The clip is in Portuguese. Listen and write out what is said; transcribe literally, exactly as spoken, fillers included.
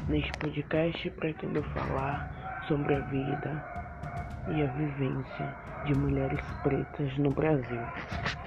Neste podcast pretendo falar sobre a vida e a vivência de mulheres pretas no Brasil.